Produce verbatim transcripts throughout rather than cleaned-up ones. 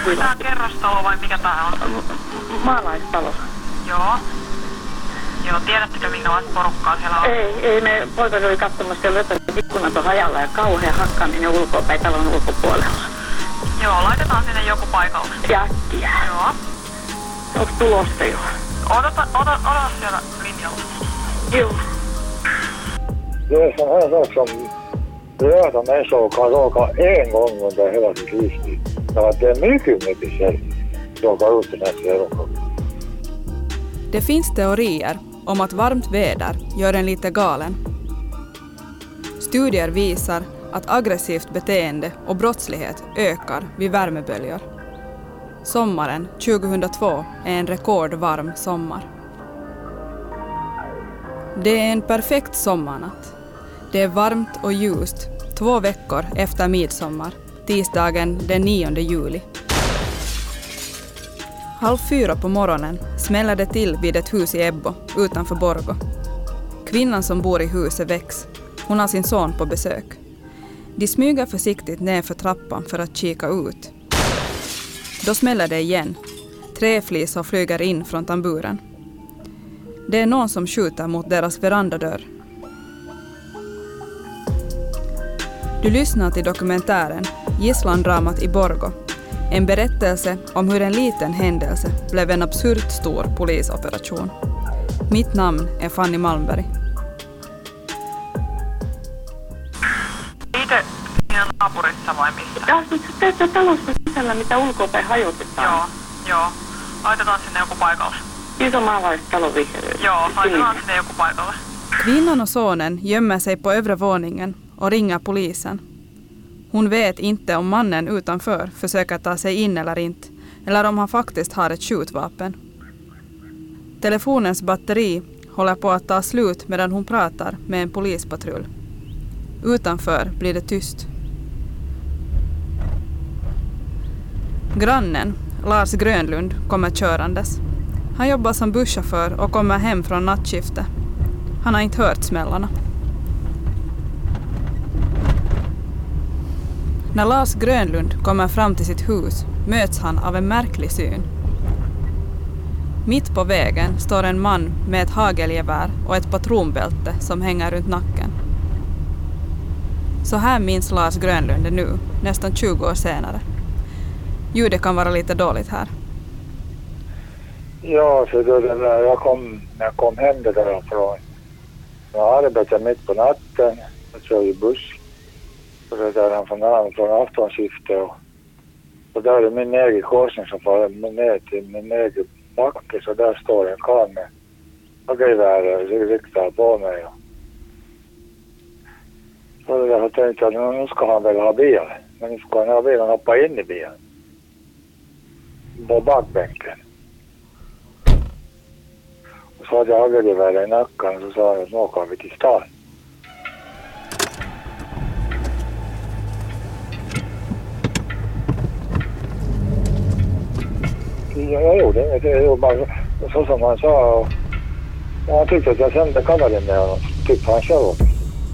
Onko tää kerrostalo vai mikä tää on? Maalaistalo. Joo. Joo, tiedättekö minkälaista porukkaa siellä on? Ei, ei me poika oli katsomassa siellä jotain ikkunat on hajalla ja kauhea hakkaaminen ulkopäin talon ulkopuolella. Joo, laitetaan sinne joku paikalle. Jättiä. Joo. Onko tulosta jo? Odota, odota, odota siellä linjalla. Joo. Det som händer som röda människor kan råka en gång under hela sitt livstid. Så att det är mycket, mycket sällan råkar ut den här serien. Det finns teorier om att varmt väder gör en lite galen. Studier visar att aggressivt beteende och brottslighet ökar vid värmeböljor. Sommaren tjugohundratvå är en rekordvarm sommar. Det är en perfekt sommarnatt. Det är varmt och ljust två veckor efter midsommar, tisdagen den nionde juli. Halv fyra på morgonen smäller det till vid ett hus i Ebbo utanför Borgå. Kvinnan som bor i huset väcks. Hon har sin son på besök. De smyger försiktigt ner för trappan för att kika ut. Då smäller det igen. Träflisor flyger in från tamburen. Det är någon som skjuter mot deras verandadörr. Du lyssnar till dokumentären Gisslandramat i Borgå. En berättelse om hur en liten händelse blev en absurt stor polisoperation. Mitt namn är Fanny Malmberg. Itse siinä naapurissa vai missä? Ja siis tässä talossa sisällä, mitä ulkopäin hajotetaan. Joo, joo. Laitetaan sinne joku paikalle. Iso maalaistalo vihreä. Joo, laitetaan sinne joku paikalle. Kvinnan och sonen gömmer sig på övre våningen och ringer polisen. Hon vet inte om mannen utanför försöker ta sig in eller inte, eller om han faktiskt har ett skjutvapen. Telefonens batteri håller på att ta slut medan hon pratar med en polispatrull. Utanför blir det tyst. Grannen, Lars Grönlund, kommer körandes. Han jobbar som busschaufför och kommer hem från nattskifte. Han har inte hört smällarna. När Lars Grönlund kommer fram till sitt hus möts han av en märklig syn. Mitt på vägen står en man med ett hagelgevär och ett patronbälte som hänger runt nacken. Så här minns Lars Grönlund det nu, nästan tjugo år senare. Ljudet kan vara lite dåligt här. Ja, så då den där, jag kom, jag kom hem det därifrån. Jag arbetade mitt på natten, jag kör ju buss. Så det där från, från aftonskiftet och, och där är min egen korsning som får ner till min egen backe, så där står en karl med hagelgevär riktad på mig. Och, så det där har tänkt att nu ska han väl ha bil, men nu ska han ha bilen och hoppa in i bilen. På bakbänken. Och så hade jag hagelgevär i nacken och så sa han att nu åker vi till stan. Jag gjorde inget, jag gjorde bara så som han sa. Och han tyckte att jag sände kameran med honom, tyckte han själv också.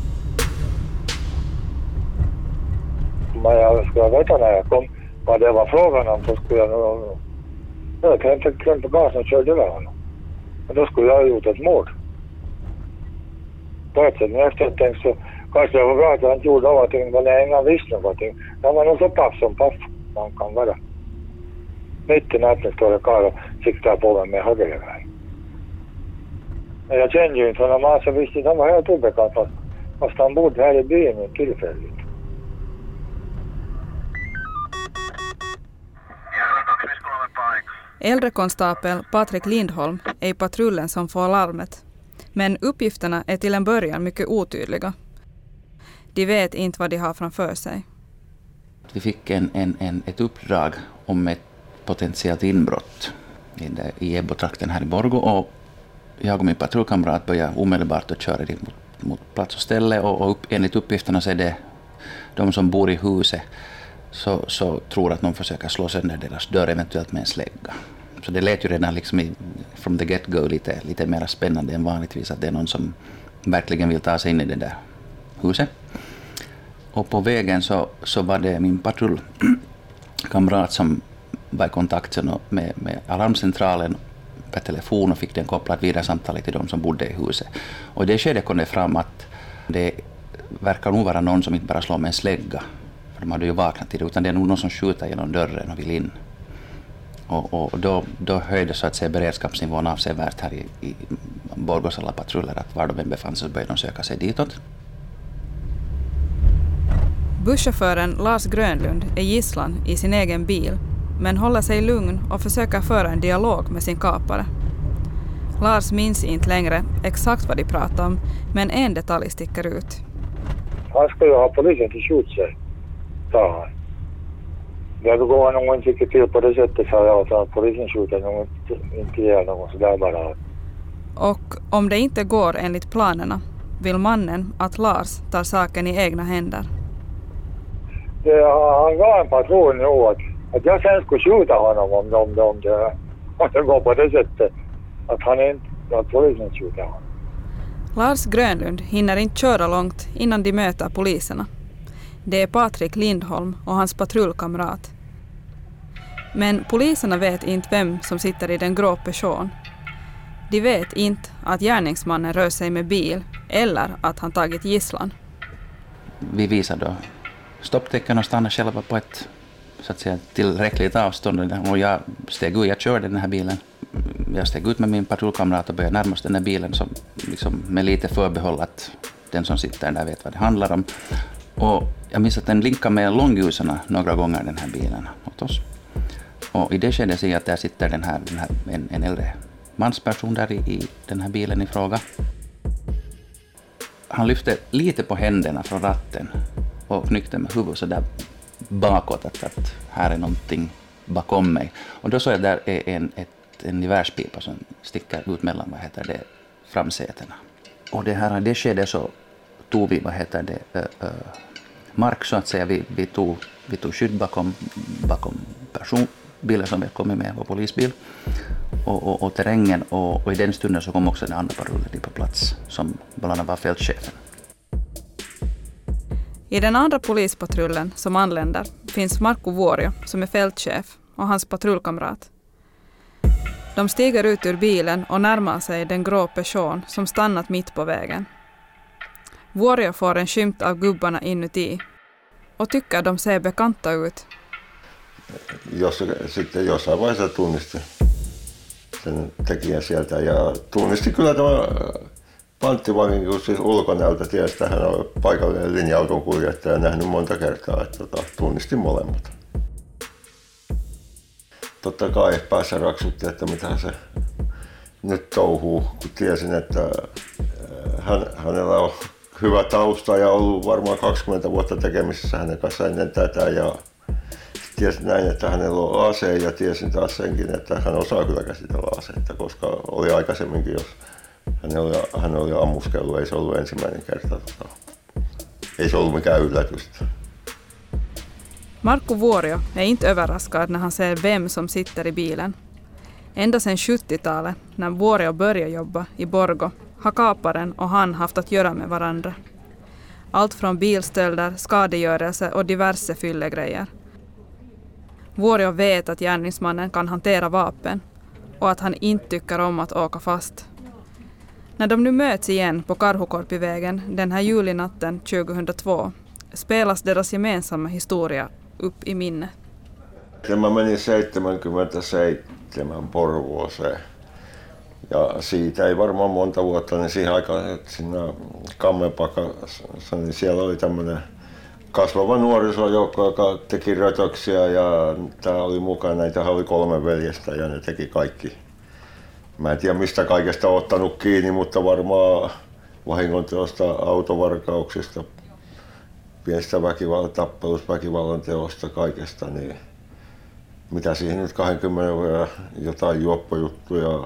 Men jag skulle veta när jag kom vad det var frågan om, så skulle jag nog... Jag tänkte klämma på gasen och körde över honom. Men då skulle jag ha gjort ett mord. På ett sätt, men efter ett tänk så kanske det var bra att jag inte gjorde någonting, men jag inga visste någonting. Jag var nog så paff som paff man kan vara. Mitt i natten står det karl och siktar på mig med hagelgevär. Men jag kände ju inte honom, så visste att han var helt obekant fast, fast han bodde här i byn tillfälligt. Äldre konstapel Patrik Lindholm är i patrullen som får larmet. Men uppgifterna är till en början mycket otydliga. De vet inte vad de har framför sig. Vi fick en, en, en, ett uppdrag om ett potentiellt inbrott i, det, i Ebbo-trakten här i Borgå, och jag och min patrullkamrat började omedelbart att köra dit mot, mot plats och ställe, och, och upp, enligt uppgifterna så är det de som bor i huset så, så tror att någon försöker slå sönder deras dörr, eventuellt med en slägga. Så det lät ju redan liksom i, from the get-go lite, lite mer spännande än vanligtvis, att det är någon som verkligen vill ta sig in i det där huset. Och på vägen så, så var det min patrullkamrat som var i kontakt med, med alarmcentralen per telefon och fick den kopplad vidare samtalet till de som bodde i huset. Och i det skedet kom det fram att det verkar nog vara någon som inte bara slår med en slägga, för de hade ju vaknat till det, utan det är nog någon som skjuter genom dörren och vill in. Och, och då, då höjde så att säga beredskapsnivån avsevärt här i, i Borgos alla patruller, att var de än befann sig så började de söka sig ditåt. Busschauffören Lars Grönlund är gisslan i sin egen bil, men håller sig lugn och försöker föra en dialog med sin kapare. Lars minns inte längre exakt vad de pratar om, men en detalj sticker ut. Han ska ju ha polisen till skjut sig, sa han. Det går nog inte riktigt till på det sättet, sa jag, så att polisen skjuter nog inte ihjäl någon sådär bara. Och om det inte går enligt planerna vill mannen att Lars tar saken i egna händer. Det, han gav en patron nu att, att jag sen skulle skjuta honom om, om, om, det, om det går på det sättet. Att han inte, att polisen skjuter honom. Lars Grönlund hinner inte köra långt innan de möter poliserna. Det är Patrik Lindholm och hans patrullkamrat. Men poliserna vet inte vem som sitter i den grå Peugeot. De vet inte att gärningsmannen rör sig med bil eller att han tagit gisslan. Vi visar då stopptecken och stannar själva på ett så att säga tillräckligt avstånd, och jag steg ut, jag körde den här bilen. Jag steg ut med min patrullkamrat och började närma oss den här bilen som, liksom, med lite förbehåll att den som sitter där vet vad det handlar om. Och jag minns att den linkar med långljusen några gånger, den här bilen, åt oss. Och i det skedet ser jag att där sitter den här, den här, en, en äldre mansperson där i, i den här bilen i fråga. Han lyfte lite på händerna från ratten och knyckte med huvudet så där bakåt att, att här är någonting bakom mig. Och då såg jag där är en, ett, en gevärspipa som sticker ut mellan, vad heter det, framsätena. Och det här, det skedde så tog vi, vad heter det, äh, äh, mark så att säga. Vi, vi, tog, vi tog skydd bakom, bakom personbilen som vi kommit med, vår polisbil. Och, och, och terrängen, och, och i den stunden så kom också den andra patrullen på plats som bland annat var fältchefen. I den andra polispatrullen som anländer finns Markku Vuorio som är fältchef och hans patrullkamrat. De stiger ut ur bilen och närmar sig den grå Peugeot som stannat mitt på vägen. Vuorio får en skymt av gubbarna inuti och tycker de ser bekanta ut. Jos, sitten jossain vaiheessa tunnisti sen tekijän sieltä ja tunnisti kyllä tämä panttivangin, kun siis ulkonäöltä tiesi, että hän on paikallinen linja-auton kuljettaja, nähnyt monta kertaa, että tota, tunnisti molemmat. Totta kai päässä raksutti, että mitä se nyt touhuu, kun tiesin, että hän, hänellä on hyvä tausta ja ollut varmaan kaksikymmentä vuotta tekemisissä hänen kanssa ennen tätä, ja tiesin näin, että hänellä on ase, ja tiesin taas senkin, että hän osaa kyllä käsitellä aseita, koska oli aikaisemminkin, jos hän oli, hän oli ammuskellut, ei se ollut ensimmäinen kerta. Tota, ei se ollut mikään yllätystä. Markku Vuorio är inte överraskad när han ser vem som sitter i bilen. Ända sedan sjuttiotalet, när Vuorio började jobba i Borgo, har kaparen och han haft att göra med varandra. Allt från bilstölder, skadegörelse och diverse fyllegrejer. Vuorio vet att gärningsmannen kan hantera vapen och att han inte tycker om att åka fast. När de nu möts igen på Karhukorpivägen den här julinatten tjugohundratvå spelas deras gemensamma historia upp i minne. Mä menin seitsemänkymmentäseitsemän Porvooseen ja siitä ei varmaan monta vuotta, niin siihen aikaan siinä Kammepakassa, niin siellä oli tämmöinen kasvava nuorisojoukko, joka teki rötöksiä, ja tää oli mukana, näitähän oli kolme veljestä ja ne teki kaikki. Mä en tiedä mistä kaikesta on ottanut kiinni, mutta varmaan vahingonteosta, autovarkauksista, pienistä väkivallan tappelusta, väkivallan teosta, kaikesta, niin mitä siihen nyt kaksikymmentä vuotta jotain juoppojuttuja,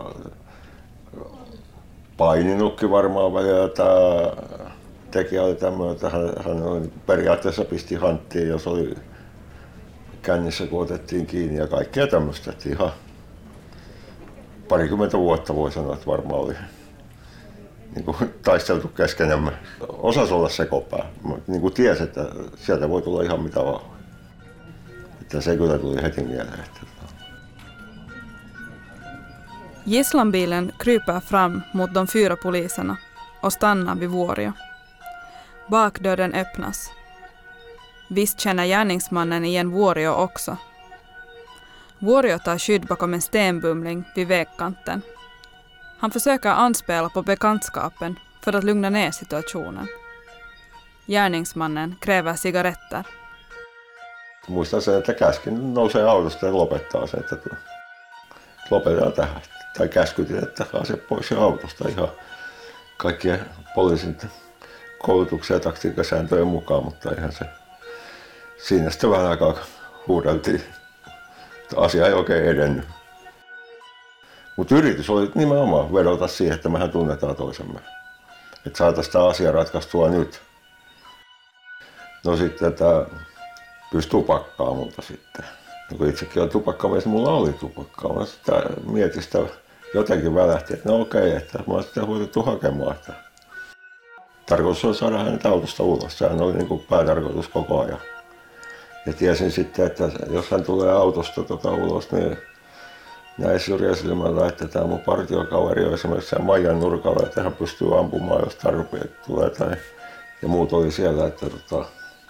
paininutkin varmaan välillä. Tämä tekijä oli tämmöinen, että hän, hän oli, periaatteessa pisti hanttiin, jos oli kännissä, kun otettiin kiinni, ja kaikkea tämmöistä. Ihan parikymmentä vuotta voi sanoa, että varmaan oli niin kuin taisteltu keskenämme. Osasi olla sekopää, niin kuin tiesi, että sieltä voi tulla ihan mitä vaan. Että se kyllä tuli heti mieleen. Että Gisslanbilen kryper fram mot de fyra poliserna och stannar vid Vuorio. Bakdörren öppnas. Visst känner gärningsmannen igen Vuorio också. Vuorio tar skydd bakom en stenbumling vid vägkanten. Han försöker anspela på bekantskapen för att lugna ner situationen. Gärningsmannen kräver cigaretter. Muistan sen, että käskin nousee autosta ja lopettaa sen, että lopetetaan tähän. Tai käskytin, että ase pois autosta ihan kaikkien poliisin koulutuksia ja taktiikkasääntöjen mukaan, mutta ihan se siinä sitten vähän aikaa huudeltiin. Asia ei oikein edennyt. Mutta yritys oli nimenomaan vedota siihen, että mehän tunnetaan toisemme. Että saataisiin tämä asia ratkaistua nyt. No sitten tämä pyysi tupakkaa multa sitten. No kun itsekin on tupakkamies, mulla oli tupakkaa. Mä sitten mietin sitä jotenkin välähti, että no okei, että mä oon sitten huotettu hakemaan. Että tarkoitus oli saada hänet autosta ulos. Sehän oli niin kuin päätarkoitus koko ajan. Ja tiesin sitten, että jos hän tulee autosta tota ulos, niin näin syrjäsilmällä, että tämä mun partiokaveri on esimerkiksi sen Maijan nurkalla, että hän pystyy ampumaan, jos tarpeet tulee. Tai, ja muut oli siellä, että tota,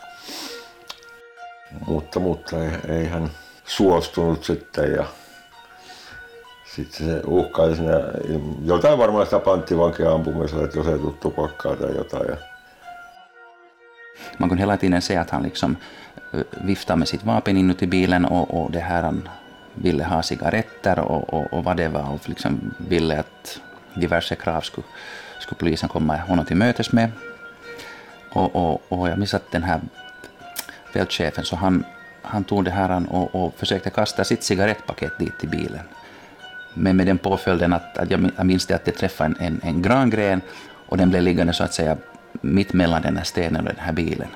mutta, mutta ei, ei hän suostunut sitten. Ja sitten se uhkaili sinne, jotain varmaan sitä panttivankia ampumisella, että jos ei tule tupakkaa tai jotain. Ja man kunde hela tiden se att han liksom viftade med sitt vapen inuti bilen och, och det här han ville ha cigaretter och, och, och vad det var och liksom ville att diverse krav skulle, skulle polisen komma honom till mötes med. Och, och, och jag minns att den här fältchefen så han, han tog det här och, och försökte kasta sitt cigarettpaket dit till bilen. Men med den påföljden att, att jag minns det att det träffade en, en, en grangren och den blev liggande så att säga mitt mellan den här stenen och den här bilen.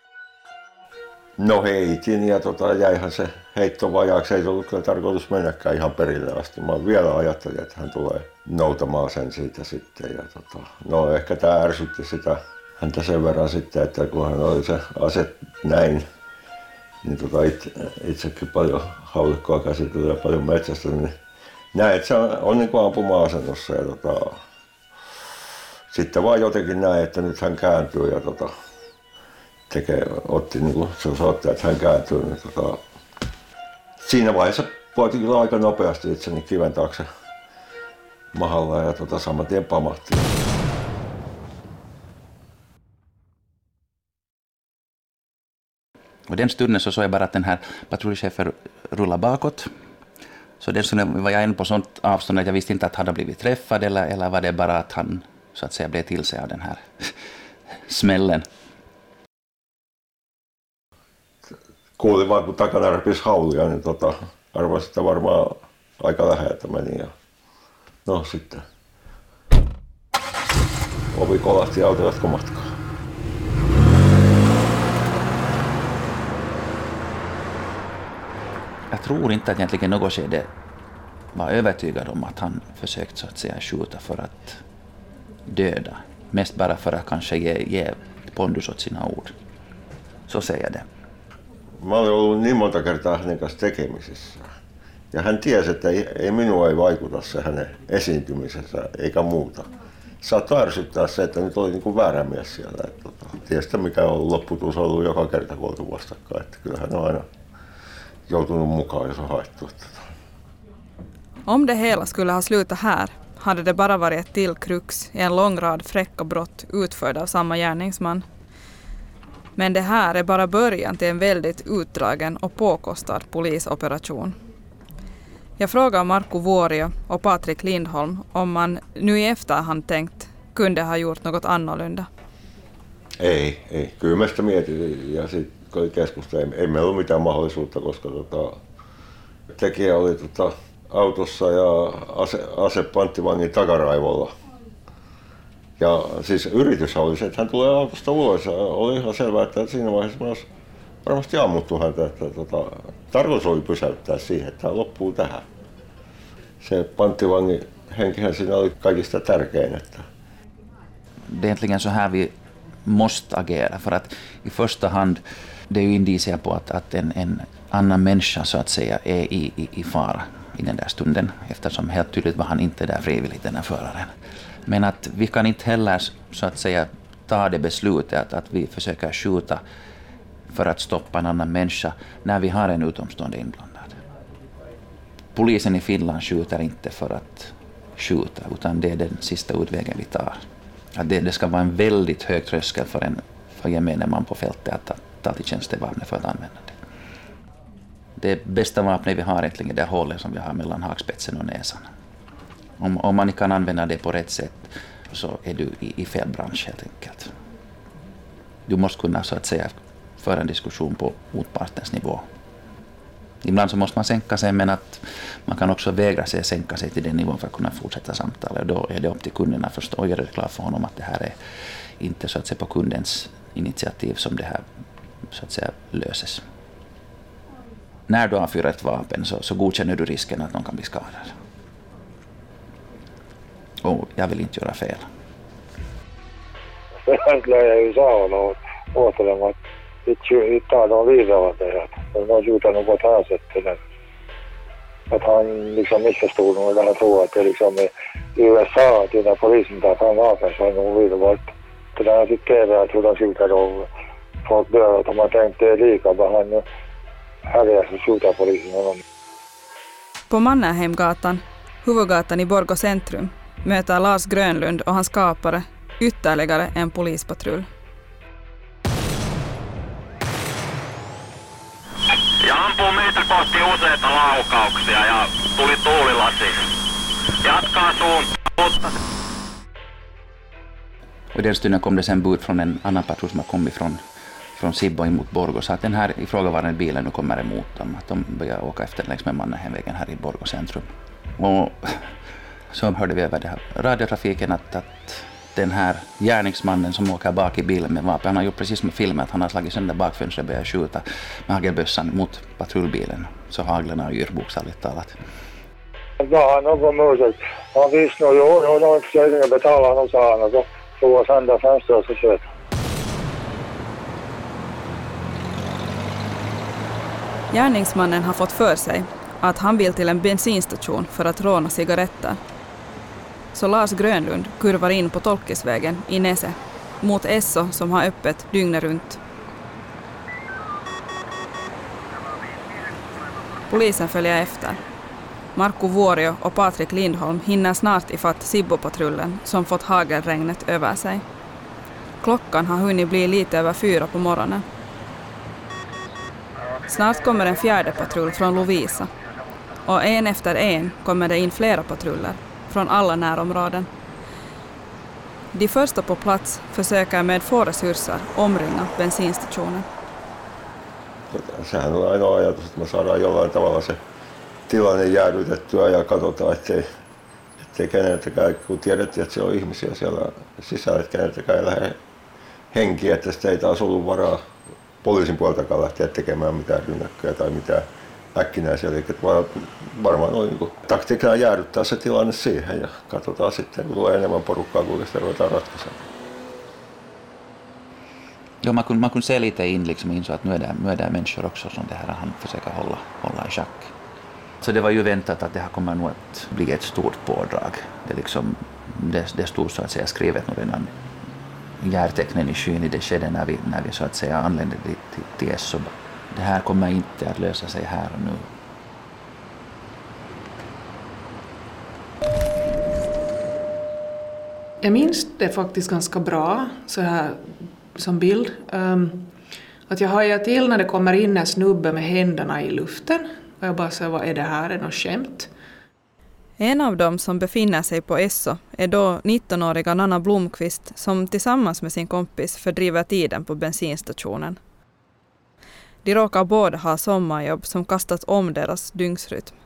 No heitin ja tota, jäihän se heitto vajaaksi. Ei ollut kyllä tarkoitus mennäkään ihan perille asti. Mä vielä ajattelin, että hän tulee noutamaan sen siitä sitten. Ja tota, no ehkä tää ärsytti sitä häntä sen verran sitten, että kun hän oli se ase näin, niin tota itse, itsekin paljon haulikkoa käsitellyt ja paljon metsästä, niin näin, että se on, on niin kuin ampuma-asennossa. Ja tota, sitten vaan jotenkin näin, että nyt hän kääntyy ja tota, tekee, otti niin kuin se osoittaa, että hän kääntyy. Niin tota, siinä vaiheessa poitin kyllä aika nopeasti itseni kiven taakse mahalla ja tota, saman tien pamahti. Och den stunden så såg jag bara att den här patrullchefen rullade bakåt. Så den stunden var jag ändå på sånt avstånd att jag visste inte att han hade blivit träffad eller, eller var det bara att han så att säga blev till sig av den här smällen. Kuulin vaan kun takana repisi haulia, niin tota, arvasin, että varmaan aika läheltä meni. Ja no sitten ovi kolahti ja auto jatkoi matkaa. Jag tror inte att egentligen något skede var övertygad om att han försökt så att säga skjuta för att döda. Mest bara för att kanske ge, ge pondus åt sina ord. Så säger det. Mä olin ollut niin monta kertaa hänen kanssa tekemisissä. Ja hän tiesi, että ei, ei minua ei vaikuta se hänen esiintymisensä eikä muuta. Saattoi ärsyttää se, että nyt oli niin kuin väärä mies siellä. Että, tota, tiedätkö mikä on lopputulos ollut joka kerta kun oltu vastakkain. Että kyllähän on aina joutunut mukaan, jos on haettu. Om det hela skulle ha slutat här hade det bara varit ett till krux i en lång rad fräcka brott utförda av samma gärningsman. Men det här är bara början till en väldigt utdragen och påkostad polisoperation. Jag frågar Markku Vuorio och Patrik Lindholm om man nu i efterhand tänkt kunde ha gjort något annorlunda. Ei, ei. Kyllä mä sitä mietin ja sitten keskusta. Ei, ei meillä ollut mitään mahdollisuutta, koska tota, tekijä oli tota, autossa ja ase, ase panttivangin takaraivolla. Ja siis yritys oli se, että hän tulee autosta ulos ja oli ihan selvää, että siinä vaiheessa mä olisi varmasti ammuttu häntä. Että, tota, tarkoitus oli pysäyttää siihen, että hän loppuu tähän. Se panttivangin henkihän siinä oli kaikista tärkein. Että det är egentligen så här vi måste agera för att i första hand det är ju indicier på att, att en, en annan människa så att säga är i, i, i fara i den där stunden, eftersom helt tydligt var han inte där frivilligt, den här föraren. Men att vi kan inte heller så att säga ta det beslutet att, att vi försöker skjuta för att stoppa en annan människa när vi har en utomstående inblandad. Polisen i Finland skjuter inte för att skjuta, utan det är den sista utvägen vi tar. Att det, det ska vara en väldigt hög tröskel för en för gemene man på fältet att ta, ta till tjänstevapnet för att använda det. Det bästa vapnet vi har egentligen är det hålet som vi har mellan hakspetsen och näsan. Om, om man inte kan använda det på rätt sätt så är du i, i fel bransch helt enkelt. Du måste kunna så att säga föra en diskussion på motpartens nivå. Ibland så måste man sänka sig, men att man kan också vägra sig sänka sig till den nivån för att kunna fortsätta samtalet. Och då är det upp till kunderna att förstå och göra det klart för honom att det här är inte så att säga på kundens initiativ som det här så att säga löses. När du avfyrar ett vapen så, så godkänner du risken att någon kan bli skadad. Och jag vill inte göra fel. Egentligen jag ju sa honom åt dem att vi tar dem vidare att det att de har gjort något på ett annat sätt. Att han liksom missförstod och han tror att det liksom är i U S A att när polisen tar fram vapen så har de vidare varit. Så den har sitt tv att hur de skjuter och folk dör att de har tänkt det lika bara han här är så skjuter polisen honom. På Mannerheimgatan, huvudgatan i Borgå centrum, möter Lars Grönlund och hans skapare ytterligare en polispatrull. Ja ampuu meitä kohti useita laukauksia ja tuli tuulilasi. Jatkaa suuntaan. Och i den stunden kom det sen bud från en annan patrull som har kommit från, från Sibbo emot Borgå. Så att den här ifrågavarande bilen nu kommer emot dem. Att de börjar åka efter längs med Mannerheimvägen här i Borgå centrum. Och så hörde vi över det här radiotrafiken att, att den här gärningsmannen som åker bak i bilen med vapen, han har gjort precis som i filmen att han har slagit sönder bakfönstret och börjat skjuta med hagelbössan mot patrullbilen. Så haglen har yr bokstavligt talat. Var han någon musik? Han visste nog, jo, jo, de försökte betala honom, sa han, och så tog han sönder fönstret och så kört. Gärningsmannen har fått för sig att han vill till en bensinstation för att råna cigaretter. Så Lars Grönlund kurvar in på Tolkisvägen i Nese mot Esso som har öppet dygnet runt. Polisen följer efter. Marko Vuorio och Patrik Lindholm hinner snart ifatt Sibbo-patrullen som fått hagelregnet över sig. Klockan har hunnit bli lite över fyra på morgonen. Snart kommer en fjärde patrull från Lovisa. Och en efter en kommer det in flera patruller från alla närområden. De första på plats försöker med få resurser omringa bensinstationen. Sehän on ainoa ajatus, että me saadaan jollain tavalla se tilanne jäädytettyä ja katsotaan, ettei, ettei keneltäkään, kun tiedettiin, että siellä on ihmisiä siellä sisällä, että keneltäkään ei lähde henkiä, että sitä ei taas ollut varaa poliisin puoltakaan lähteä tekemään mitään rynnäkköjä tai mitään äkkinäisiä. Eli varmaan oli niin taktiikkaa jäädyttää se tilanne siihen ja katsotaan sitten, kun tulee enemmän porukkaa, kuinka sitä ruvetaan ratkaisemaan. Jo, man kunde, man kunde se lite in liksom in så att nu är det, nu är det människor också som det här han försöker hålla, hålla i schack. Så det var ju väntat att det här kommer nog att bli ett stort pådrag. Det, liksom, det, det stod så att säga skrivet nog redan järtecknen i skyn i det skedde när vi, när vi så att säga anlände till, till, till Esso. Det här kommer inte att lösa sig här och nu. Jag minns det faktiskt ganska bra så här som bild. Um, att jag hajar till när det kommer in en snubbe med händerna i luften. Och jag bara säger, vad är det här? Är det något skämt? En av dem som befinner sig på Esso är då nittonåriga Nanna Blomqvist som tillsammans med sin kompis fördriver tiden på bensinstationen. De råkar båda ha sommarjobb som kastat om deras dygnsrytm.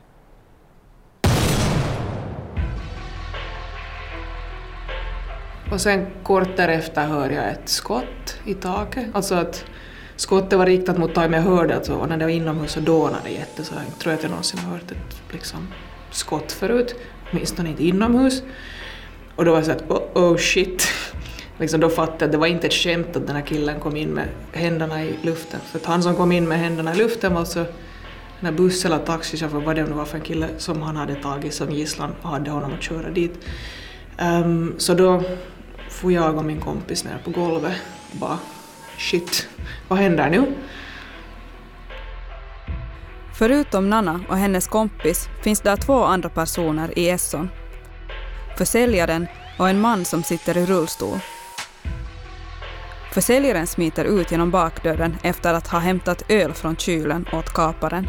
Och sen kort därefter hör jag ett skott i taket. Alltså att skottet var riktat mot taget, men jag hörde att så, när det var inomhus så dånade det jätte. Så jag tror att jag någonsin har hört ett liksom, skott förut. Åtminstone inte inomhus. Och då var jag så att oh, oh shit. Liksom då fattade jag att det var inte ett skämt att den här killen kom in med händerna i luften. För att han som kom in med händerna i luften var så när buss eller taxichaufför, vad det nu var för en kille som han hade tagit som gisslan och hade honom att köra dit. Um, så då får jag och min kompis ner på golvet och bara shit, vad händer nu? Förutom Nanna och hennes kompis finns där två andra personer i Esson. Försäljaren och en man som sitter i rullstol. Försäljaren smiter ut genom bakdörren efter att ha hämtat öl från kylen åt kaparen.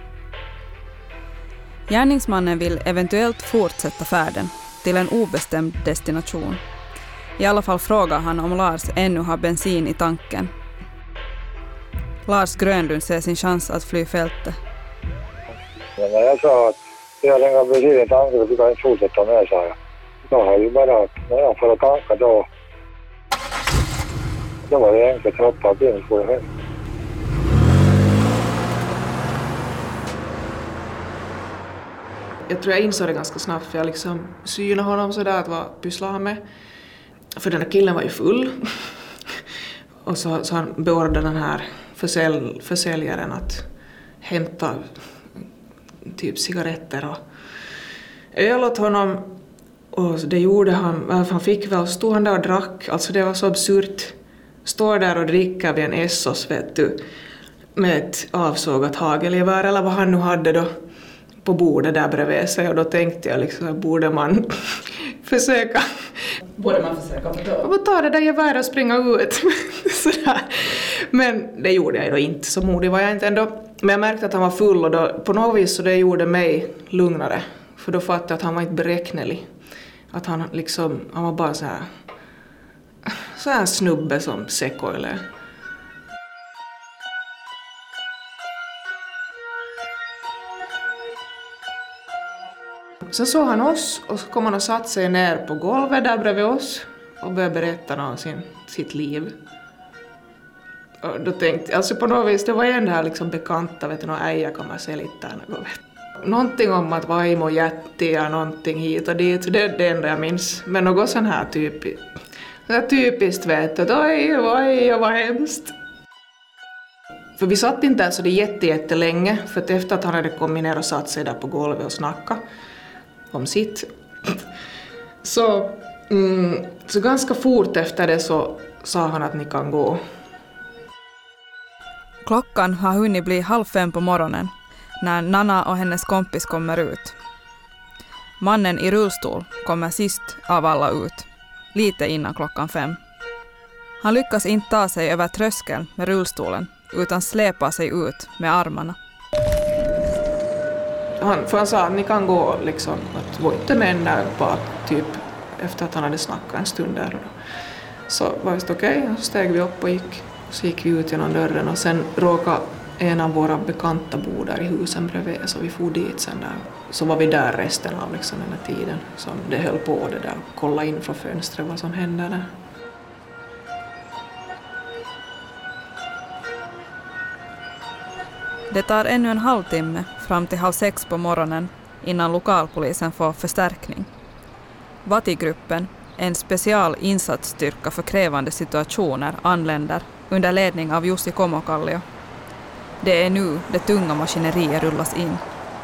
Gärningsmannen vill eventuellt fortsätta färden till en obestämd destination. I alla fall frågar han om Lars ännu har bensin i tanken. Lars Grönlund ser sin chans att fly fältet. Men när jag sa att jag längre bensin i tanken så fick jag inte fortsätta med, sa jag. Då har jag bara att när jag får att tanka då, då var det enkelt att hoppa in på det här. Jag tror jag insåg det ganska snabbt för jag liksom synade honom sådär att vad pysslar han med. För den här killen var ju full. Och så, så han beordrade den här försälj, försäljaren att hämta typ cigaretter och öl åt honom. Och det gjorde han, han fick väl, stod han där och drack, alltså det var så absurt. Står där och dricker vid en Essos, vet du, med ett avsågat hagelgevär eller vad han nu hade då på bordet där bredvid sig. Och då tänkte jag liksom, borde man försöka Borde man försöka då? Ta det där geväret och springa ut. Sådär. Men det gjorde jag då inte, så modig var jag inte ändå. Men jag märkte att han var full och då, på något vis så det gjorde mig lugnare. För då fattade jag att han var inte beräknelig. Att han liksom, han var bara så här, så här snubbe som Sekoile. Sen såg han oss och så kom han och satt sig ner på golvet där bredvid oss och började berätta om sin, sitt liv. Och då tänkte jag, alltså på något vis, det var en där liksom bekanta, vet du, någon äja kommer se lite där något, vet. Någonting om att vaimo jättiä, någonting hit och dit, det är det enda jag minns. Men något sån här typiskt, så här typiskt vet du, oj, oj, vad hemskt. För vi satt inte alltså det jätte, jättelänge, för att efter att han hade kommit ner och satt sig där på golvet och snacka om sitt. Så, mm, så ganska fort efter det så sa han att ni kan gå. Klockan har hunnit bli halv fem på morgonen när Nanna och hennes kompis kommer ut. Mannen i rullstol kommer sist av alla ut, lite innan klockan fem. Han lyckas inte ta sig över tröskeln med rullstolen utan släpar sig ut med armarna. Han, för han sa att ni kan gå liksom, att gå inte män där bara typ efter att han hade snackat en stund där. Så var det okej, okay, så steg vi upp och gick. Så gick vi ut genom dörren och sen råkade en av våra bekanta bo där i husen bredvid, så vi for dit sen där. Så var vi där resten av liksom den här tiden som det höll på det där, kolla in från fönstret vad som hände där. Det tar ännu en halvtimme fram till halv sex på morgonen innan lokalpolisen får förstärkning. Vatigruppen, en special insatsstyrka för krävande situationer, anländer under ledning av Jussi Komokallio. Det är nu det tunga maskineriet rullas in.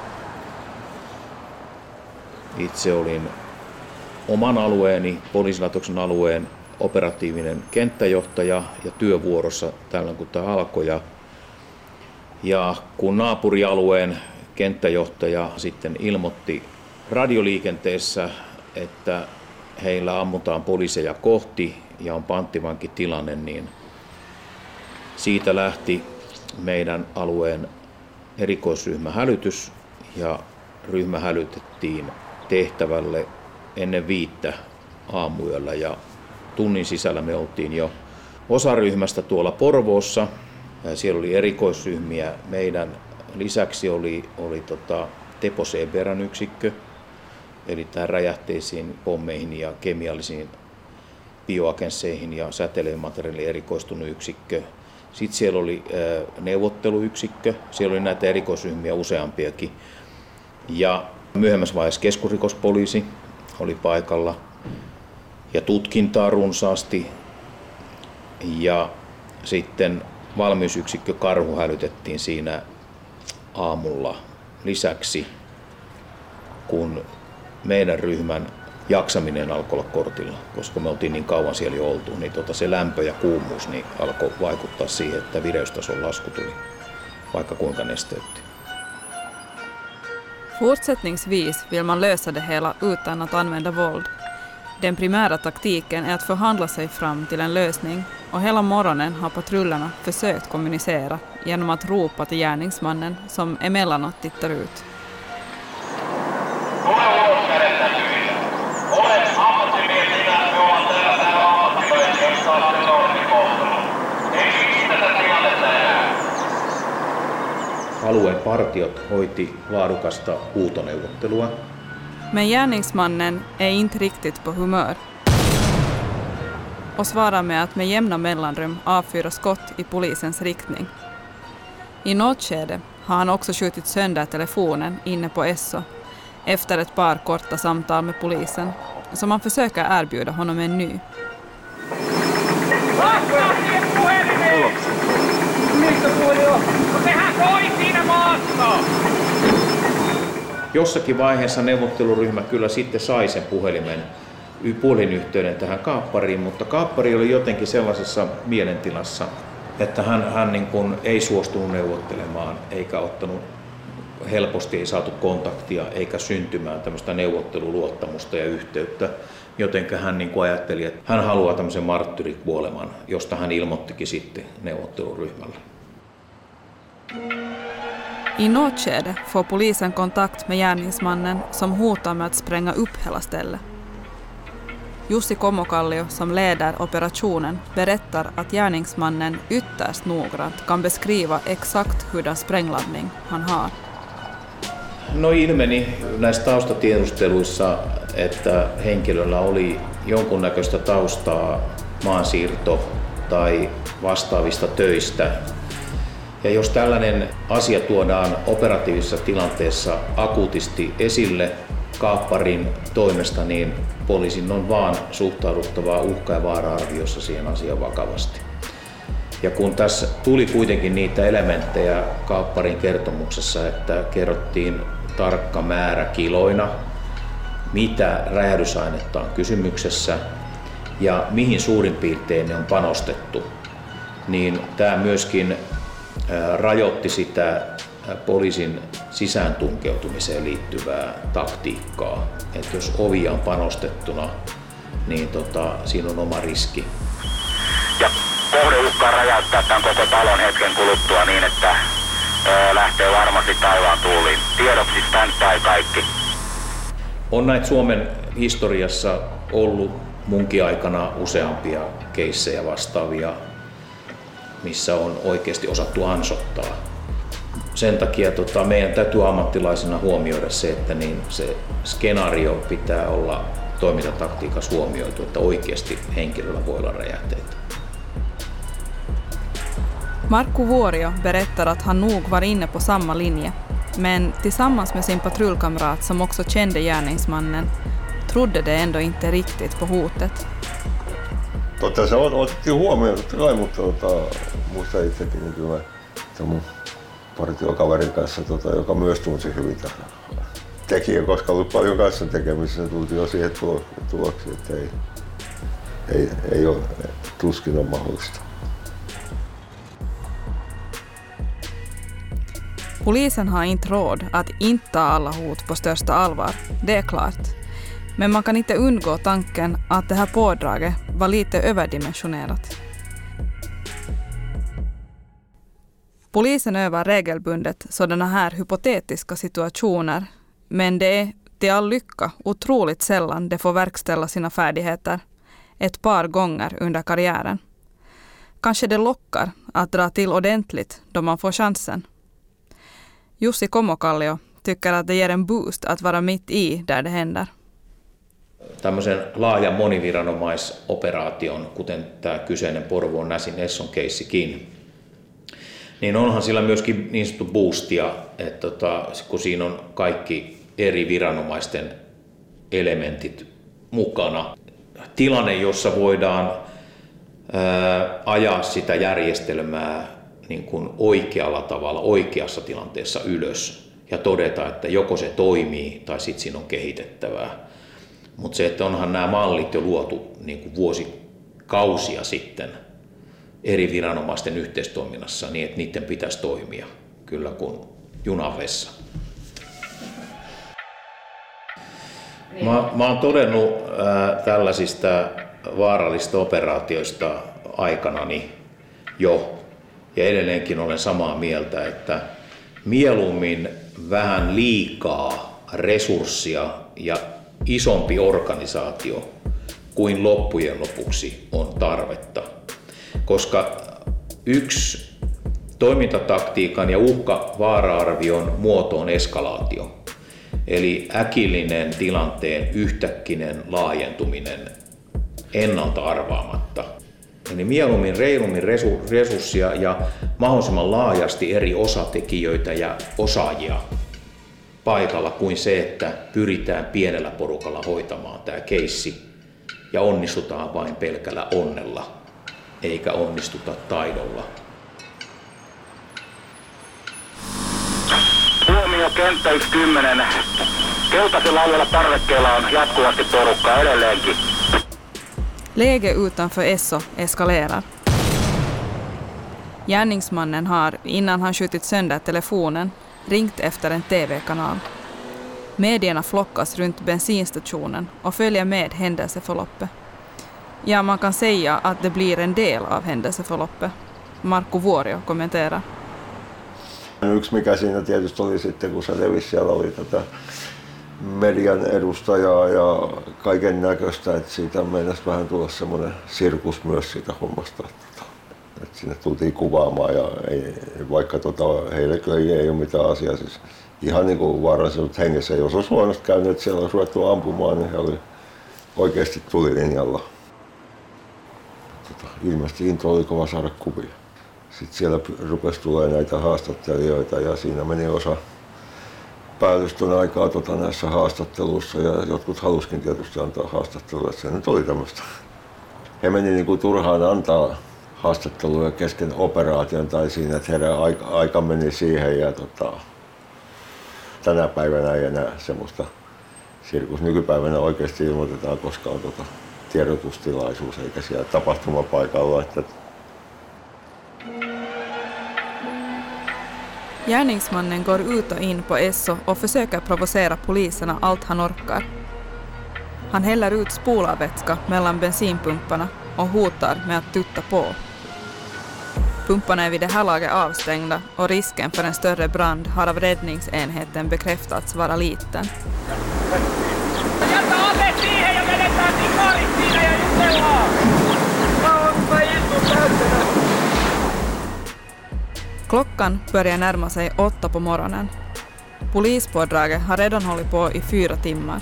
Itse olin oman alueeni, poliisilaitoksen alueen operatiivinen kenttäjohtaja ja työvuorossa tällöin kun tämä alkoi. Ja, ja kun naapurialueen kenttäjohtaja sitten ilmoitti radioliikenteessä, että heillä ammutaan poliiseja kohti ja on panttivankitilanne, niin siitä lähti meidän alueen erikoisryhmähälytys ja ryhmä hälytettiin tehtävälle ennen viittä aamuyöllä ja tunnin sisällä me oltiin jo osaryhmästä tuolla Porvoossa. Siellä oli erikoisryhmiä. Meidän lisäksi oli, oli tota Tepo Seberän yksikkö, eli tähän räjähteisiin, pommeihin ja kemiallisiin bioagensseihin ja säteilymateriaaliin erikoistunut yksikkö. Sitten siellä oli neuvotteluyksikkö, siellä oli näitä erikoisryhmiä useampiakin. Ja myöhemmässä vaiheessa keskusrikospoliisi oli paikalla ja tutkintaa runsaasti. Ja sitten valmiusyksikkö Karhu hälytettiin siinä aamulla lisäksi, kun meidän ryhmän jaksaminen alkoi olla kortilla, koska me oltiin niin kauan siellä jo oltu, niin tota se lämpö ja kuumuus niin alkoi vaikuttaa siihen, että vireystason lasku tuli, vaikka kuinka nesteytti. Fortsättningsvis vill man lösa det hela utan att använda våld. Den primära taktiken är att förhandla sig fram till en lösning och hela morgonen har patrullerna försökt kommunicera genom att ropa till gärningsmannen som emellanåt tittar ut. Alueen partiot hoiti laadukasta huutoneuvottelua. Men gärningsmannen är inte riktigt på humör och svarar med att med jämna mellanrum avfyra skott i polisens riktning. I något skede har han också skjutit sönder telefonen inne på Esso efter ett par korta samtal med polisen, så man försöker erbjuda honom en ny. Jossakin vaiheessa neuvotteluryhmä kyllä sitten sai sen puhelimen puhelinyhteyden tähän kaappariin, mutta kaappari oli jotenkin sellaisessa mielentilassa, että hän, hän niin kuin ei suostunut neuvottelemaan eikä ottanut helposti, ei saatu kontaktia eikä syntymään tämmöistä neuvotteluluottamusta ja yhteyttä, jotenka hän niin kuin ajatteli, että hän haluaa tämmöisen marttyrikuoleman, josta hän ilmoittikin sitten neuvotteluryhmälle. I något skede får polisen kontakt med gärningsmannen som hotar med att spränga upp hela stället. Jussi Komokallio, som leder operationen, berättar att gärningsmannen ytterst noggrant kan beskriva exakt hurdan sprängladdning han har. No ilmeni näissä taustatiedusteluissa, että henkilöllä oli jonkunnäköistä taustaa maansiirto- tai vastaavista töistä. Ja jos tällainen asia tuodaan operatiivisessa tilanteessa akuutisti esille kaapparin toimesta, niin poliisin on vaan suhtauduttavaa uhka- ja vaara-arviossa siihen asiaan vakavasti. Ja kun tässä tuli kuitenkin niitä elementtejä kaapparin kertomuksessa, että kerrottiin tarkka määrä kiloina, mitä räjähdysainetta on kysymyksessä ja mihin suurin piirtein ne on panostettu, niin tämä myöskin rajoitti sitä poliisin sisään tunkeutumiseen liittyvää taktiikkaa. Että jos ovia on panostettuna, niin tota, siinä on oma riski. Ja kohde uhkaa räjäyttää tämän koko talon hetken kuluttua niin, että ö, lähtee varmasti taivaan tuuliin. Tiedoksi standby kaikki. On näitä Suomen historiassa ollut munkin aikana useampia keissejä vastaavia, missä on oikeasti osattu ansottaa. Sen takia tota, meidän täytyy ammattilaisena huomioida se, että niin se skenaario pitää olla toimintataktiikassa huomioitu, että oikeasti henkilöllä voi olla räjähteitä. Markku Vuorio berättar att han nog var inne på samma linje, men tillsammans med sin patrullkamrat som också kände gärningsmannen trodde det ändå inte riktigt på hotet. Totta se on, otettiin huomioon, totta kai, mutta tota, muista itsekin niin kyllä mun partiokaverin kanssa, tota, joka myös tunsi hyvin tähän tekijä, koska ollut paljon kanssa tekemisissä, se tultiin jo siihen tuloksiin, että ei, ei, ei ole, tuskin on mahdollista. Polisen har inte råd att inte ta alla hot på största allvar, det är klart. Men man kan inte undgå tanken att det här pådraget var lite överdimensionerat. Polisen övar regelbundet sådana här hypotetiska situationer, men det är till all lycka otroligt sällan de får verkställa sina färdigheter, ett par gånger under karriären. Kanske det lockar att dra till ordentligt då man får chansen. Jussi Komokallio tycker att det ger en boost att vara mitt i där det händer. Tämmöisen laajan moniviranomaisoperaation, kuten tämä kyseinen Porvoon Näsin Esson keissikin, niin onhan sillä myöskin niin sanottu boostia, että tota, kun siinä on kaikki eri viranomaisten elementit mukana. Tilanne, jossa voidaan ää, ajaa sitä järjestelmää niin kuin oikealla tavalla, oikeassa tilanteessa ylös ja todeta, että joko se toimii tai sitten siinä on kehitettävää. Mutta se, että onhan nämä mallit jo luotu niin kuin vuosikausia sitten eri viranomaisten yhteistoiminnassa niin, että niiden pitäisi toimia kyllä kuin junavessa. Mä, mä oon todennut äh, tällaisista vaarallisista operaatioista aikanani jo, ja edelleenkin olen samaa mieltä, että mieluummin vähän liikaa resurssia ja isompi organisaatio kuin loppujen lopuksi on tarvetta. Koska yksi toimintataktiikan ja uhka-vaara-arvion muoto on eskalaatio. Eli äkillinen tilanteen yhtäkkinen laajentuminen ennalta arvaamatta. Eli mieluummin reilummin resurssia ja mahdollisimman laajasti eri osatekijöitä ja osaajia paikalla kuin se, että pyritään pienellä porukalla hoitamaan tämä keissi ja onnistutaan vain pelkällä onnella, eikä onnistuta taidolla. Huomio kenttä yksi kymmenen. Keltaisella alueella parvekkeella on jatkuvasti porukkaa edelleenkin. Läge utanför Esso eskalerar. Gärningsmannen har, innan han skjutit sönder telefonen, ringt efter en T V-kanal. Medierna flockas runt bensinstationen och följer med händelseförloppet. Ja, man kan säga att det blir en del av händelseförloppet. Markku Vuorio kommenterar. Yksi mikä siinä tietysti oli sitten, kun se levisi, siellä oli tätä median edustajaa ja kaiken näköistä, että siitä meinasi vähän tulla semmoinen sirkus myös siitä hommasta. Että sinne tultiin kuvaamaan ja ei, vaikka tota, heille kyllä ei, ei ole mitään asiaa. Siis ihan niin kuin vaaralliset hengessä, jos olisi huonosti käynyt, että siellä olisi ruvettu ampumaan, niin he oli oikeasti tulilinjalla. Tota, ilmeisesti into oli kova saada kuvia. Sitten siellä rupesi tulemaan näitä haastattelijoita ja siinä meni osa päällystön aikaa tota, näissä haastatteluissa ja jotkut halusikin tietysti antaa haastatteluja, että se nyt oli tämmöistä. He meni niin kuin turhaan antaa haastatteluja kesken operaation tai siinä, että heidän aika, aika meni siihen ja tota, tänä päivänä ei enää semmoista sirkus. Nykypäivänä oikeasti ilmoitetaan, koska on tota, tiedotustilaisuus eikä siellä tapahtumapaikalla. Että Gärningsmannen går ut och in på Esso och försöker provocera poliserna allt han orkar. Han häller ut spolarvätska mellan bensinpumparna och hotar med att tutta på. Pumparna är vid det här laget avstängda och risken för en större brand har av räddningsenheten bekräftats vara liten. Jätä ase siihen ja vedetään sikarit siinä ja jutellaan! Mä oon istu täytenä! Klockan börjar närma sig åtta på morgonen. Polispådraget har redan hållit på i fyra timmar.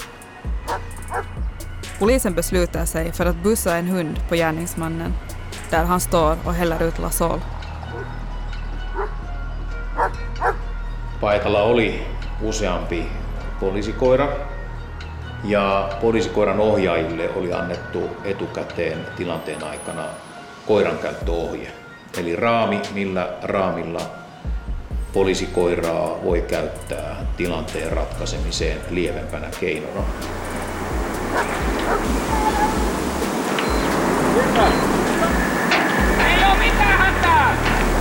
Polisen beslutar sig för att bussa en hund på gärningsmannen, där han står och häller ut Lasol. Paikalla oli useampi poliisikoira ja poliisikoiran ohjaajille oli annettu etukäteen tilanteen aikana koirankäyttöohje. Eli raami, millä raamilla poliisikoiraa voi käyttää tilanteen ratkaisemiseen lievempänä keinona. Ei oo mitään hätää!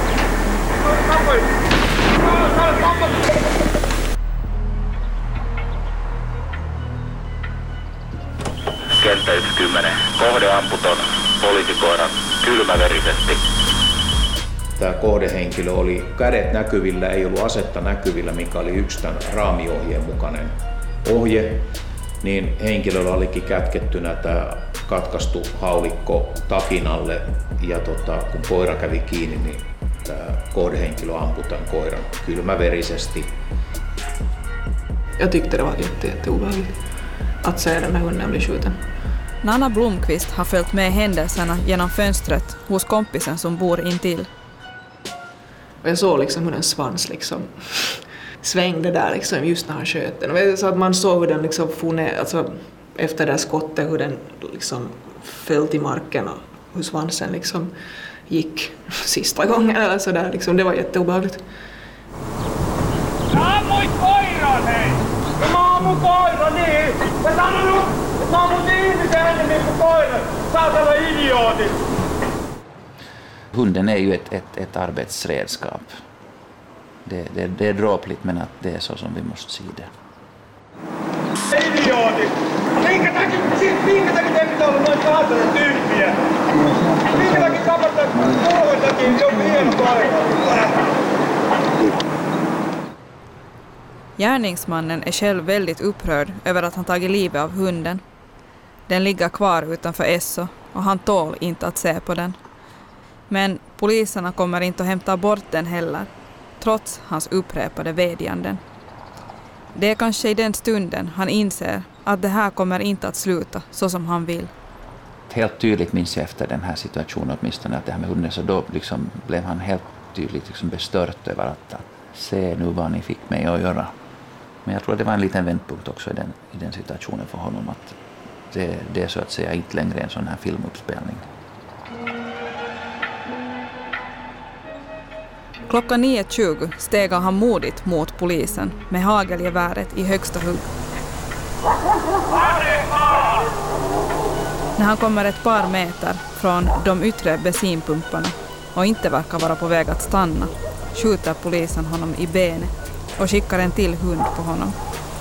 Kenttä yksi kymmenen. Kohde amputon poliisikoiran kylmäverisesti. Tämä kohdehenkilö oli kädet näkyvillä, ei ollut asetta näkyvillä, mikä oli yksi tämän raamiohjeen mukainen ohje. Niin henkilöllä olikin kätkettynä tämä katkaistu haulikko takinalle ja tota, kun koira kävi kiinni, niin tämä kohdehenkilö ampui tämän koiran kylmäverisesti. Jag tyckte det var jätte, jätteobehagligt att se den här hunden bli skjuten. Nanna Blomqvist har följt med händelserna genom fönstret hos kompisen som bor intill. Och jag såg liksom hur den svans liksom svängde där liksom just när han sköt den. Så att man såg hur den liksom for ner, alltså efter det skottet, hur den liksom föll till marken och hur svansen liksom gick sista gången eller sådär. Liksom, det var jätteobehagligt. Sä ammuit koiran, hei! Mä ammun koiran, niin! Mä sanonut, että mä ammut ihmisen enemmän kuin koiran! Saatana idiootit! Hunden är ju ett, ett, ett arbetsredskap. Det, det, det är dråpligt, men att det är så som vi måste se det. Idiootit! Minkä takia, minkä takia te pitää olla noin saatana tyyppiä? Minkä takia kapattaa kolmen takia, se on hieno koira? Gärningsmannen är själv väldigt upprörd över att han tagit livet av hunden. Den ligger kvar utanför Esso och han tål inte att se på den. Men poliserna kommer inte att hämta bort den heller, trots hans upprepade vädjanden. Det är kanske i den stunden han inser att det här kommer inte att sluta så som han vill. Helt tydligt minns jag efter den här situationen åtminstone att det här med hunden, så då liksom blev han helt tydligt liksom bestört över att, att se nu vad ni fick mig att göra. Men jag tror att det var en liten vändpunkt också i den, i den situationen för honom, att det, det är så att säga inte längre en sån här filmuppspelning. Klockan nio tjugo stegar han modigt mot polisen med hagelgeväret i högsta hugg. När han kommer ett par meter från de yttre bensinpumparna och inte verkar vara på väg att stanna, skjuter polisen honom i benet och skickar en till hund på honom.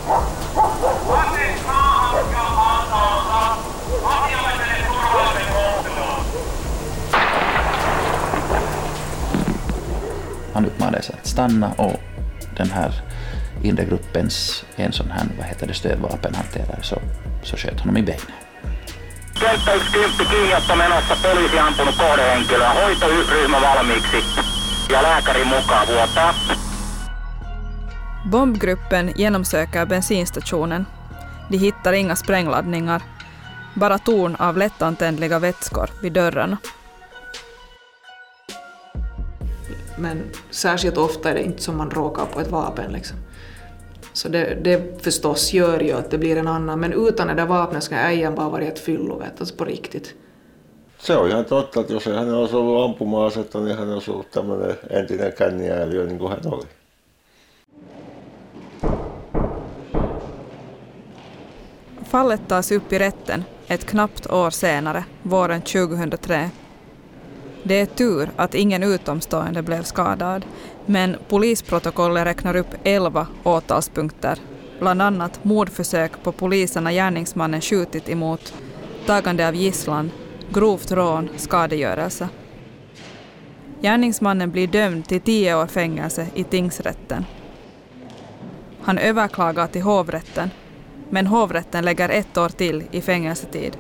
Han uppmanades att stanna och den här inre gruppens en sån här, vad heter det, stödvapenhanterare så, så sköt honom i benet. Kenttä yksi kymppi kiinniotto menossa, poliisi ampunut kohdehenkilöä, hoitoryhmä valmiiksi ja lääkärin mukaan vuotaa. Bombgruppen genomsöker bensinstationen. De hittar inga sprängladdningar, bara torn av lättantändliga vätskor vid dörrarna. Men särskilt ofta är det inte som man råkar på ett vapen. Liksom. Så det, det förstås gör ju att det blir en annan. Men utan det där vapnet ska äijän bara vara ett fyllovet, alltså på riktigt. Se on ihan totta, että jos ei hän olisi ollut ampuma-asetta, niin hän olisi ollut tämmöinen entinen känniääliö niin kuin hän oli. Fallet tas upp i rätten ett knappt år senare, våren tjugohundratre. Det är tur att ingen utomstående blev skadad, men polisprotokollet räknar upp elva åtalspunkter, bland annat mordförsök på poliserna gärningsmannen skjutit emot, tagande av gisslan, grovt rån, skadegörelse. Gärningsmannen blir dömd till tio år fängelse i tingsrätten. Han överklagar till hovrätten, men hovrätten lägger ett år till i fängelsetid.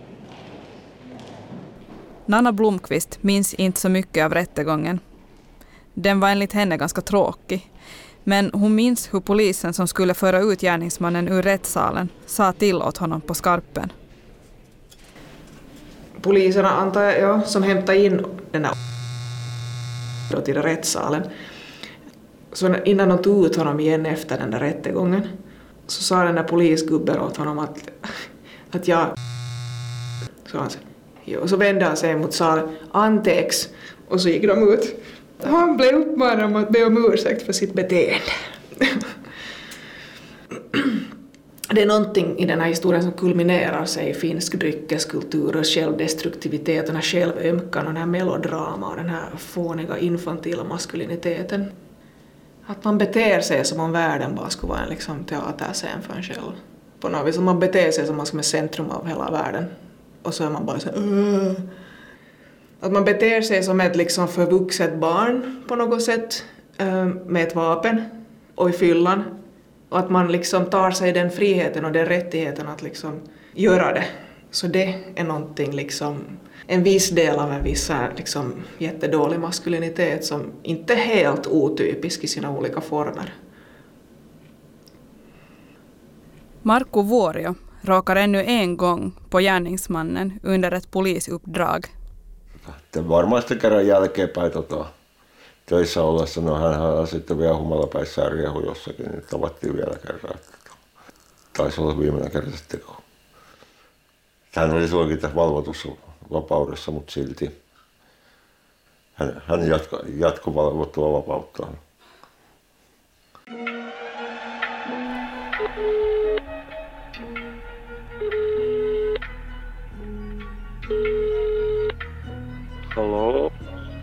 Nanna Blomqvist minns inte så mycket av rättegången. Den var enligt henne ganska tråkig. Men hon minns hur polisen som skulle föra ut gärningsmannen ur rättssalen sa till åt honom på skarpen. Poliserna antar jag, ja, som hämtade in den här då till rättssalen. Så innan de tog ut honom igen efter den där rättegången så sa den där polisgubben åt honom att, att jag... Så, han, och så vände han sig mot salen, antex, och så gick de ut. Han blev uppmanad om att be om ursäkt för sitt beteende. Det är någonting i den här historien som kulminerar sig i finsk dryckeskultur och självdestruktivitet, den här självömkan och den här melodrama och den här fåniga infantila maskuliniteten. Att man beter sig som om världen bara skulle vara en liksom teaterscen för en själv. På något vis, man beter sig som man ska vara centrum av hela världen. Och så är man bara så uh. Att man beter sig som ett liksom förvuxet barn på något sätt uh, med ett vapen och i fyllan. Och att man liksom tar sig den friheten och den rättigheten att liksom göra det. Så det är någonting liksom, en viss del av en viss liksom jättedålig maskulinitet som inte är helt otypisk i sina olika former. Markku Vuorio råkar ännu en gång på gärningsmannen under ett polisuppdrag. Että varmasti kerran jälkeenpäin tota, töissä ollessa, no hänhän sitten vielä humalapäissään riehu jossakin, niin tavattiin vielä kerran. Taisi olla viimeinen kerta sitten, kun hän oli suokin tässä valvotussa vapaudessa, mutta silti. hän, hän jatko, jatkovalvottua vapauttaan. Hallå?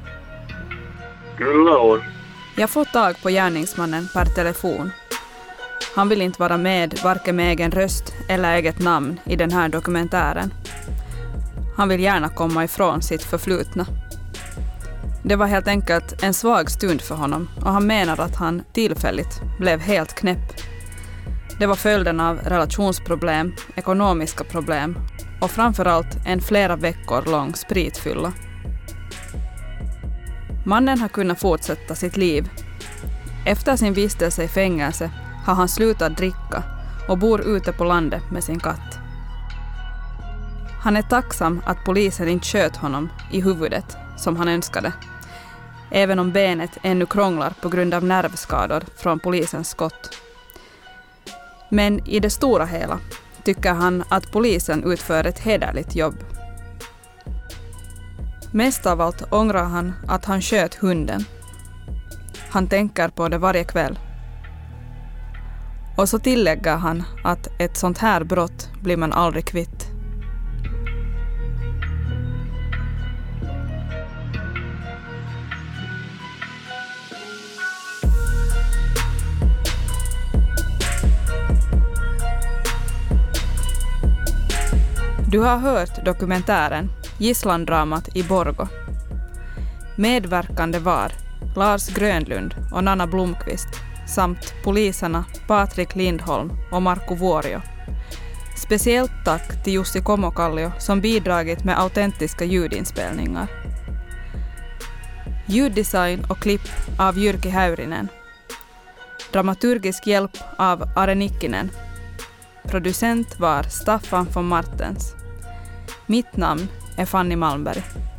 Kyllä on. Jag får tag på gärningsmannen per telefon. Han vill inte vara med varken med egen röst eller eget namn i den här dokumentären. Han vill gärna komma ifrån sitt förflutna. Det var helt enkelt en svag stund för honom och han menar att han tillfälligt blev helt knäpp. Det var följden av relationsproblem, ekonomiska problem och framförallt en flera veckor lång spritfylla. Mannen har kunnat fortsätta sitt liv. Efter sin vistelse i fängelse har han slutat dricka och bor ute på landet med sin katt. Han är tacksam att polisen inte sköt honom i huvudet som han önskade, även om benet ännu krånglar på grund av nervskador från polisens skott. Men i det stora hela tycker han att polisen utför ett hederligt jobb. Mest av allt ångrar han att han sköt hunden. Han tänker på det varje kväll. Och så tillägger han att ett sånt här brott blir man aldrig kvitt. Du har hört dokumentären Gisslandramat i Borgå. Medverkande var Lars Grönlund och Nanna Blomqvist samt poliserna Patrik Lindholm och Marko Vuorio. Speciellt tack till Jussi Komokallio som bidragit med autentiska ljudinspelningar. Ljuddesign och klipp av Jyrki Häyrinen. Dramaturgisk hjälp av Are Nikkinen. Producent var Staffan von Martens. Mitt namn är Fanny Malmberg.